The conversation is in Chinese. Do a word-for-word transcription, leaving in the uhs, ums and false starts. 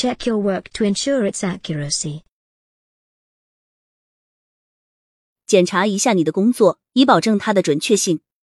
Check your work to ensure its accuracy. 检查一下你的工作，以保证它的准确性。